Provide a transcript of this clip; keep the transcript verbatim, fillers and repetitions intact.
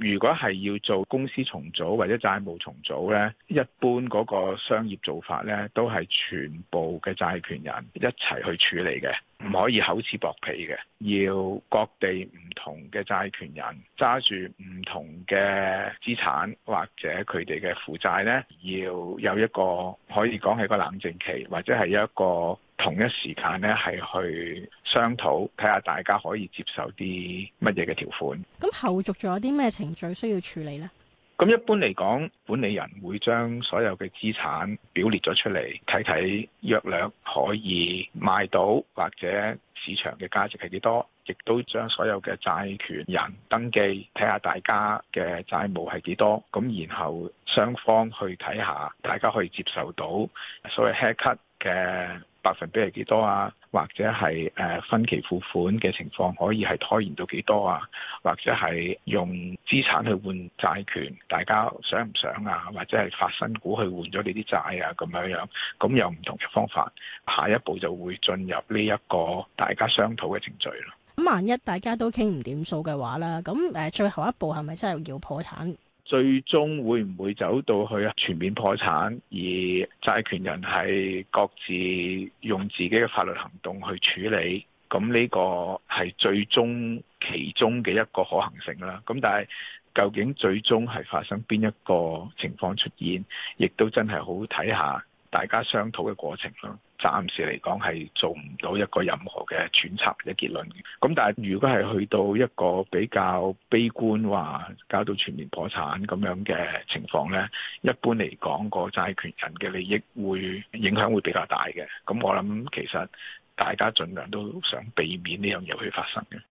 如果係要做公司重組或者債務重組呢，一般嗰個商業做法呢，都係全部嘅債權人一齊去處理嘅，唔可以口齒薄皮嘅，要各地唔同嘅債權人揸住唔同嘅資產或者佢哋嘅負債呢，要有一個可以講係個冷靜期，或者係一個同一時間呢，係去商討，睇下大家可以接受啲乜嘢嘅條款。 咁後續仲有啲咩程序需要處理呢？ 咁一般嚟講，管理人會將所有嘅資產表列咗出嚟，睇睇約略可以賣到或者市場嘅價值係幾多，亦都將所有嘅債權人登記，睇下大家嘅債務係幾多，咁然後雙方去睇下大家可以接受到所謂 haircut 嘅百分比係幾多啊，或者係誒分期付款嘅情況可以係拖延到幾多啊，或者係用資產去換債權，大家想唔想啊？或者係發新股去換咗你啲債啊咁樣樣，咁有唔同嘅方法。下一步就會進入呢一個大家商討嘅程序咯。 咁萬一大家都傾唔掂數嘅話啦，咁誒最後一步係咪真係要破產？ 最終會唔會走到去全面破產，而債權人係各自用自己嘅法律行動去處理？咁呢個係最終其中嘅一個可行性啦。咁但係究竟最終係發生邊一個情況出現，亦都真係好睇下大家商討嘅過程咯。暫時嚟講係做唔到一個任何嘅揣測或者結論嘅。咁但係如果係去到一個比較悲觀話搞到全面破產咁樣嘅情況呢，一般嚟講個債權人嘅利益會影響會比較大嘅。咁我諗其實大家盡量都想避免呢樣嘢去發生嘅。